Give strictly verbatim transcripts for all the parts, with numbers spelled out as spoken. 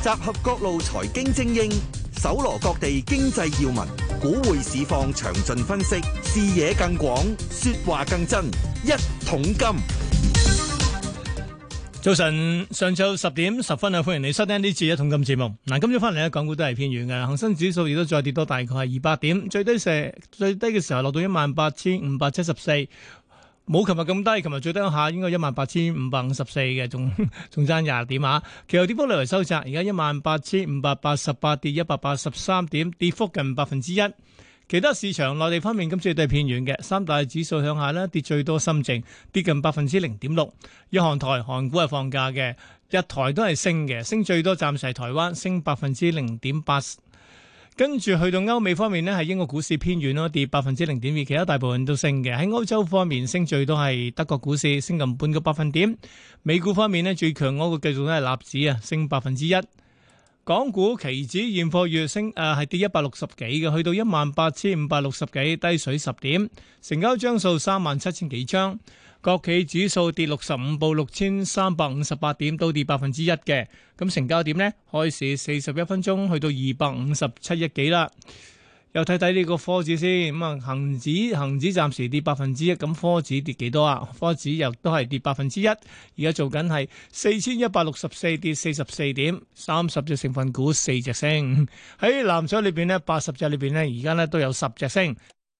集合各路財經精英，搜羅各地經濟要聞，股匯市況詳盡分析，視野更廣，說話更真。一桶金。 早晨，上晝十點十分啊，歡迎你收聽呢次一桶金節目。嗱，今朝翻嚟咧，港股都係偏軟嘅，恒生指數亦都再跌多大概係二百點，最低時最低嘅時候落到一萬八千五百七十四。冇琴日咁低，琴日最低下應該一萬八千五百五十四嘅，仲仲爭廿點啊！其後跌幅略為收窄，而家一萬八千五百八十八，跌一百八十三點，跌幅近百分之一。其他市場內地方面，今次都係偏軟嘅，三大指數向下咧，跌最多深證跌近百分之零點六。日韓台韓股係放假嘅，日台都係升嘅，升最多暫時係台灣升百分之零點八。跟住去到歐美方面呢，係英國股市偏軟咯，跌百分之零點二，其他大部分都升嘅。喺歐洲方面，升最多係德國股市，升近半個百分點。美股方面呢，最強嗰個繼續都係納指啊，升百分之一。港股期指現貨月升誒係跌一百六十幾嘅，去到一萬八千五百六十幾，低水十點。成交張數三萬七千幾張。國企指數跌六十五，報六千三百五十八點，都跌百分之一嘅。咁成交點呢？開市四十一分鐘去到二百五十七億幾啦。又睇睇呢個科指先，咁啊恒指恒指暫時跌百分之一，咁科指跌幾多啊？科指又都係跌百分之一，而家做緊係四千一百六十四，跌四十四點，三十隻成分股四隻升。喺藍籌裏邊呢，八十隻裏邊呢，而家呢都有十隻升。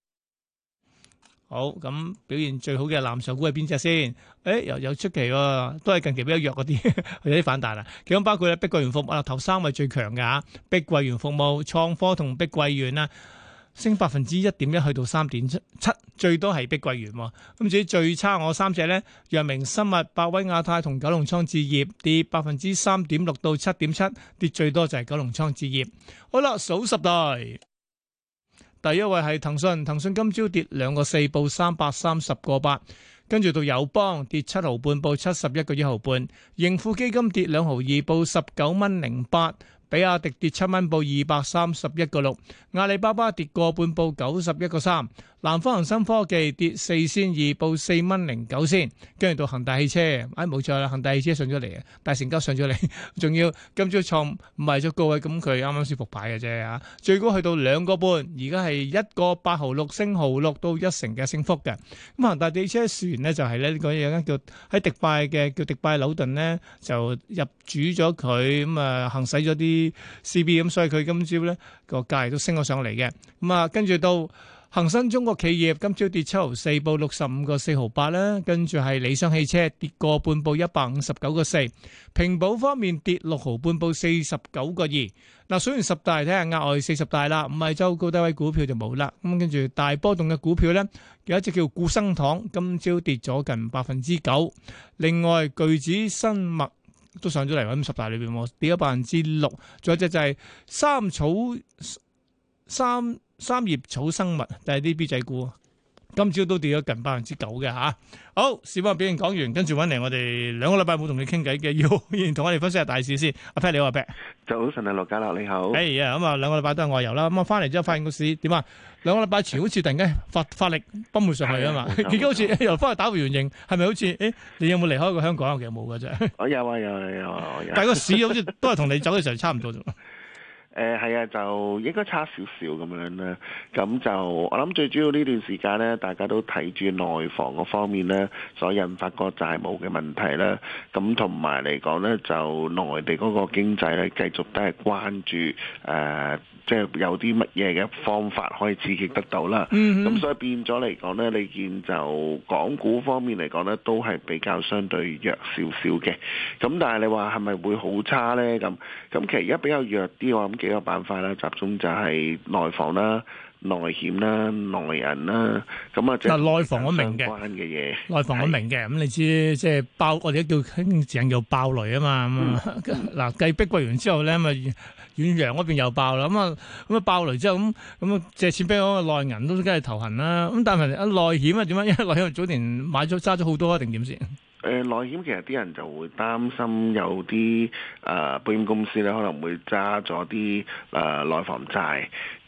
好，咁表現最好嘅藍籌股係邊隻先？誒，又有出奇喎，都係近期比較弱嗰啲，有啲反彈啦。其中包括咧碧桂園服務啊，頭三位最強嘅嚇，碧桂園服務、創科同碧桂園啊，升百分之一點一，去到三點七，最多係碧桂園喎。咁至於最差我三隻咧，藥明生物、百威亞太同九龍倉置業跌百分之三點六到七點七，跌最多就係九龍倉置業。好啦，數十大。第一位係騰訊，騰訊今朝跌兩個四，報三百三十個八，跟住到友邦跌七毫半，報七十一個一毫半，盈富基金跌兩毫二，報十九蚊零八，比亞迪跌七蚊，報二百三十一個六，阿里巴巴跌個半，報九十一個三，南方恒生科技跌四仙二，報四蚊零九仙，跟住到恒大汽車，哎冇錯啦，恒大汽車上咗嚟啊，大成交上咗嚟，仲要今朝創賣咗高位，咁佢啱啱先復牌嘅啫嚇，最高去到兩個半，而家係一個八毫六升毫六，到一成嘅升幅嘅。咁恒大汽車船呢，就係咧呢個有間叫喺迪拜嘅叫迪拜紐頓呢，就入主咗佢，咁啊行使咗啲 C B， 咁所以佢今朝咧個價都升咗上嚟嘅。咁啊跟住到恒生中國企業今朝跌七毫四，報六十五個四毫八啦。跟住係理想汽車跌個半，報一百五十九個四。平保方面跌六毫半，報四十九個二。嗱，數完十大睇下額外四十大啦，唔係周高低位股票就冇啦。咁跟住大波動嘅股票咧，有一隻叫固生堂，今朝跌咗近百分之九。另外巨子生物都上咗嚟喺十大裏邊，跌咗百分之六。仲有一隻就係三草三。三葉草生物，但係啲 B 仔股，今朝都跌咗近百分之九嘅吓。好，市況表現講完，跟住揾嚟我哋兩個禮拜冇同你傾偈嘅，要同我哋分析下大市先。阿 Pat 你好，阿 Pat。 早晨啊，羅家樂你好。 哎呀，咁啊兩個禮拜都係外遊啦，咁啊翻嚟之後發現個市點啊？兩個禮拜前好似突然間發發力崩回上去啊嘛，而家好似又翻去打回原形，係咪好似？誒，你有冇離開過香港？其實冇嘅啫。 我有啊，有啊，有啊。 但係個市好似都係同你走嘅時候差唔多啫。 誒係啊，就應該差少少咁樣啦。咁就我諗最主要呢段時間呢，大家都睇住內房嗰方面呢，所引發個債務嘅問題啦。咁同埋嚟講呢，就內地嗰個經濟呢，繼續都係關注誒。呃即係有啲乜嘢嘅方法可以刺激得到啦，咁、mm-hmm. 所以變咗嚟講呢，你見就港股方面嚟講呢，都係比較相對弱少少嘅。咁但係你話係咪會好差呢？咁咁其實而家比較弱啲，我諗幾個板塊啦，集中就係內房啦、內險啦、內銀啦，咁啊即係內房我明嘅關嘅嘢。內房我明嘅，咁你知即係爆，我哋都叫興字叫爆雷啊嘛。咁嗱繼碧桂園之後咧，咪遠洋嗰邊又爆啦。咁啊咁啊爆雷之後，咁咁啊借錢俾我內銀都梗係頭痕啦。咁但係啊內險啊點樣？因為內險早年買咗揸咗好多定點先？誒內險其實啲人就會擔心有啲誒、呃、保險公司咧可能會揸咗啲誒內房債。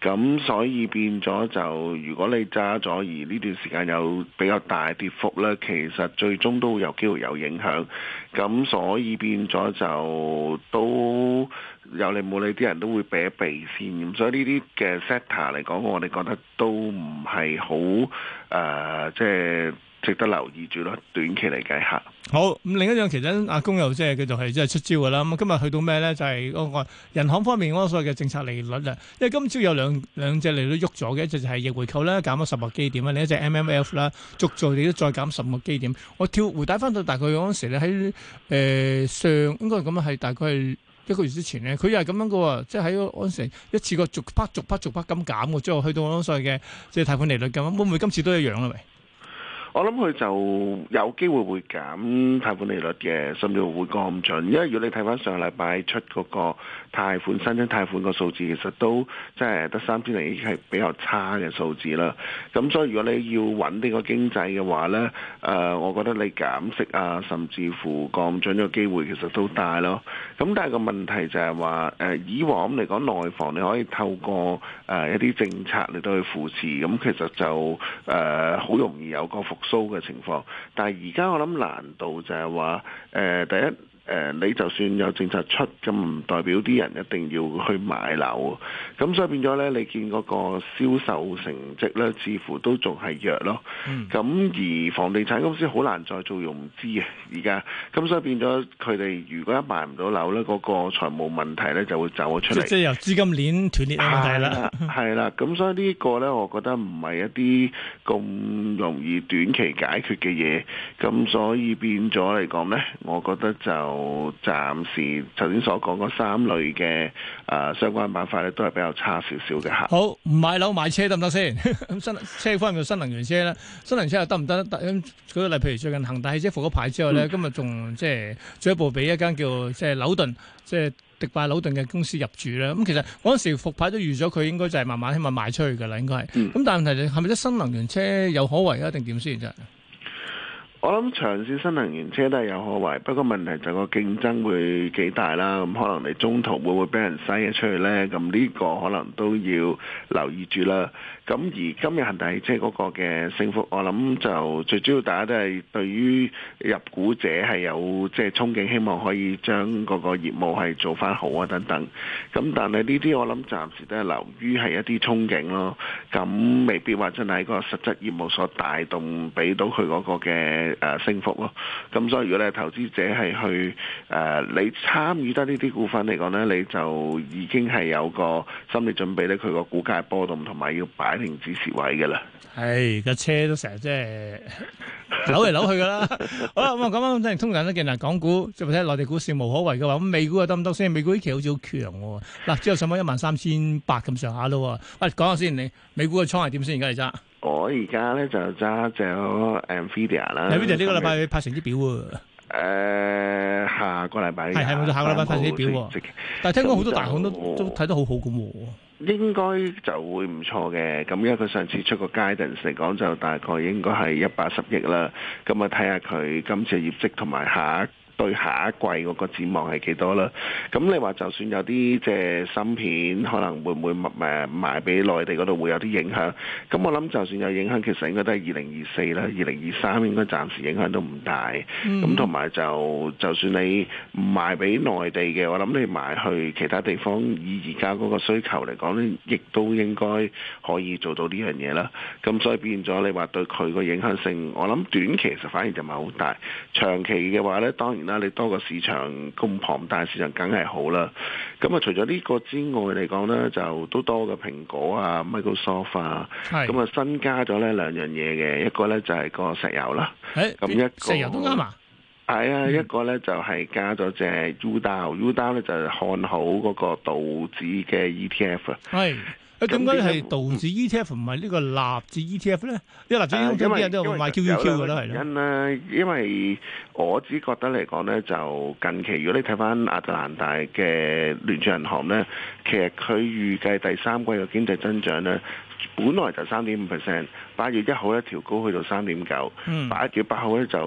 咁所以變咗就如果你揸咗而呢段時間有比較大跌幅咧，其實最終都會有機會有影響。咁所以變咗就都有理冇理啲人都會避一避先。咁所以呢啲嘅 sector 嚟講，我哋覺得都唔係好誒，即係值得留意住咯。短期嚟計下。 好，咁另一樣其實阿公又即係佢就係即係出招㗎啦。咁今日去到咩咧？就係、是、嗰個人行方面嗰個所謂嘅政策利率啊。因為今朝有兩兩隻利率喐咗嘅，一隻就係逆回購啦，減咗十個基點啦；另一隻 M M F 啦，續做亦都再減十個基點。我跳回帶翻到大概嗰陣時咧，喺誒、呃、上應該係咁啊，係大概係一個月之前咧，佢又係咁樣嘅喎，即係喺嗰陣時一次過逐筆逐筆逐筆咁減嘅，之後去到嗰所謂嘅即係貸款利率咁，會唔會今次都一樣咧？喂？ 我諗佢就有機會會減貸款利率嘅，甚至乎會降準。因為如果你睇翻上個禮拜出嗰個貸款新增貸款個數字，其實都即係得三千零億，係比較差嘅數字啦。咁所以如果你要穩定個經濟嘅話呢，誒、呃，我覺得你減息啊，甚至乎降準嘅機會其實都大咯。咁但係個問題就係話，誒、呃，以往嚟講內房你可以透過誒、呃、一啲政策嚟到去扶持，咁其實就誒好、呃、容易有個復蘇嘅情況，但係而家我諗難度就係話，誒、呃、第一。誒、呃，你就算有政策出，咁唔代表啲人一定要去買樓，咁所以變咗咧，你見嗰個銷售成績咧，似乎都仲係弱咯。咁、嗯、而房地產公司好難再做融資啊，而家，咁所以變咗佢哋如果一賣唔到樓咧，嗰、那個財務問題咧就會走咗出嚟。 即係由資金鏈斷裂嘅問題啦。 係啦，咁所以呢個咧，我覺得唔係一啲咁容易短期解決嘅嘢，咁所以變咗嚟講咧，我覺得就。暫時頭先所講嗰三類嘅誒、呃、相關板塊咧，都係比較差少少嘅嚇。 好，唔買樓買車得唔得先？咁新車方面嘅新能源車咧，新能源車又得唔得？咁舉個例，譬如最近恒大汽車復咗牌之後咧，嗯、今日仲即係進一步俾一間叫即係紐頓，即係迪拜紐頓嘅公司入駐啦。咁其實嗰陣時復牌都預咗佢應該就係慢慢希望賣出去㗎啦，應該係。咁、嗯、但係問題係咪啲新能源車有可為啊？定點先真係？ 我諗長線新能源車都係有可為，不過問題就個競爭會幾大啦。咁可能你中途會唔會俾人篩咗出去呢？咁呢個可能都要留意住啦。咁而今日恒大汽車嗰個嘅升幅，我諗就最主要大家都係對於入股者係有即係憧憬，希望可以將嗰個業務係做翻好啊等等。咁但係呢啲我諗暫時都係流於係一啲憧憬咯。咁未必話真係個實質業務所帶動俾到佢嗰個嘅誒升幅咯。咁所以如果你係投資者係去誒、呃、你參與得呢啲股份嚟講呢，你就已經係有個心理準備咧，佢個股價波動同埋要擺定止蝕位嘅啦。 係架車都成日即係扭嚟扭去噶啦。好啦，咁啊講翻即係通常都見嗱，港股即係睇內地股市無可為嘅話，咁美股又得唔得先？美股呢期好似好強喎。嗱，之後上翻一萬三千八咁上下咯。喂，講下先，你美股嘅倉係點先？而家你揸？我而家咧就揸隻 Nvidia 啦。 Nvidia 呢個禮拜派成績表喎。 誒、呃，下個禮拜係係冇錯，下個禮拜派成績表。但係聽講好多大行都都睇得好好咁喎。 應該就會唔錯嘅，咁因為佢上次出個 guidance 嚟講，就大概應該係一百十億啦。咁啊，睇下佢今次嘅業績同埋下一對下一季嗰個展望係幾多啦？咁你話就算有啲即係芯片，可能會唔會誒賣俾內地嗰度會有啲影響？咁我諗就算有影響，其實應該都係二零二四啦，二零二三應該暫時影響都唔大。咁同埋就就算你唔賣俾內地嘅，我諗你賣去其他地方，以而家嗰個需求嚟講咧，亦都應該可以做到呢樣嘢啦。咁所以變咗你話對佢個影響性，我諗短期其實反而就唔係好大，長期嘅話咧，當然啦，你多個市場咁龐大市場梗係好啦。咁啊，除咗呢個之外嚟講咧，就都多個蘋果啊、Microsoft 啊，咁啊新加咗呢兩樣嘢嘅，一個咧就係個石油啦。咁一個石油都啱啊。 係啊，一個咧就係加咗隻 U D A，U D A 咧就係看好嗰個道指嘅 E T F 啊。係。誒點解係道指 E T F 唔係呢個納指 E T F 咧？因為納指 E T F 啲人都買 Q Q Q 嘅啦，係咯。因咧，因為我只覺得嚟講咧，就近期如果你睇翻亞特蘭大嘅聯儲銀行咧，其實佢預計第三季嘅經濟增長咧，本來就三點五 percent，八月一號咧調高去到三點九，八月八號咧就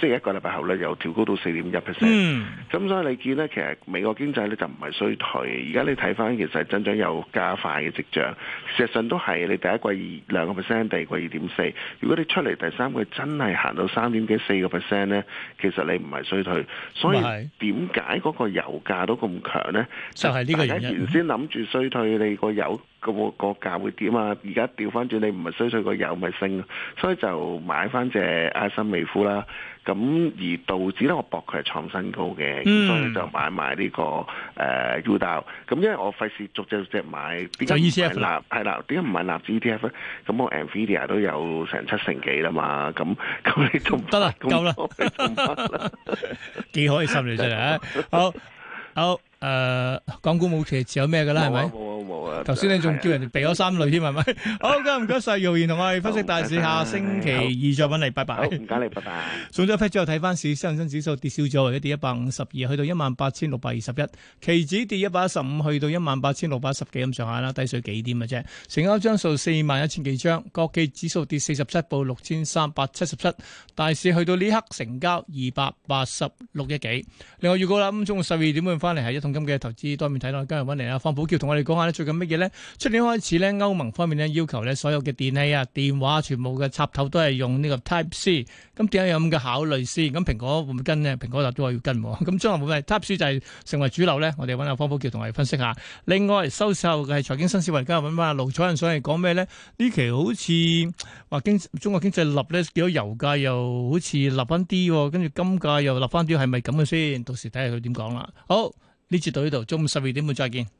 即係一個禮拜後咧又調高到四點一 percent。 嗯， 咁所以你見咧，其實美國經濟咧就唔係衰退，而家你睇翻其實增長有加快嘅跡象。事實上都係你第一季二兩個 percent，第二季二點四。如果你出嚟第三季真係行到三點幾四個 percent 咧，其實你唔係衰退。所以點解嗰個油價都咁強咧？ 就係呢個原因。 原先諗住衰退，你個油個個價會點啊？而家調翻轉，你唔係衰退個油咪升，所以就買翻隻埃森美孚啦。咁而道指咧，我搏佢係創新高嘅，嗯、所以就買埋呢、這個誒 U 道。咁、呃、因為我費事逐隻逐隻買，點解唔係納？係啦，點解唔係納指 E T F 咧？咁我 Nvidia 都有成七成幾啦嘛。咁咁你仲得啦，夠啦，幾開心你真係啊！好，好。誒、呃，港股冇期持有咩嘅啦，係咪？ 冇啊冇啊！ 頭先你仲叫人哋避咗三類添，係咪？好，今日唔該晒姚賢同我哋分析大市，下星期二再揾你，拜拜。 唔該你，拜拜。 送咗一批之後睇翻市，恒生指數跌少咗，或者跌一百五十二，去到一萬八千六百二十一。期指跌一百一十五，去到一萬八千六百一十幾咁上下啦，低水幾點嘅啫。成交張數四萬一千幾張，國企指數跌四十七，報六千三百七十七。大市去到呢刻成交二百八十六億幾。另外預告啦，咁中午十二點半翻嚟係一桶金嘅投資多面睇到，今日揾嚟啊，方保僑同我哋講下咧，最近乜嘢咧？出年開始咧，歐盟方面咧要求咧，所有嘅電器啊、電話全部嘅插頭都係用呢個 Type C。咁點解有咁嘅考慮先？咁蘋果會唔會跟呢？蘋果就都話要跟。咁將來會唔會 Type C 就係成為主流咧？我哋揾阿方保僑同我哋分析下。另外收市後嘅係財經新思維，今日揾翻阿盧楚仁上嚟講咩咧？呢期好似話經中國經濟立咧，見到油價又好似立翻啲，跟住金價又立翻啲，係咪咁嘅先？到時睇下佢點講啦。好。呢節到呢度，中午十二點半再見。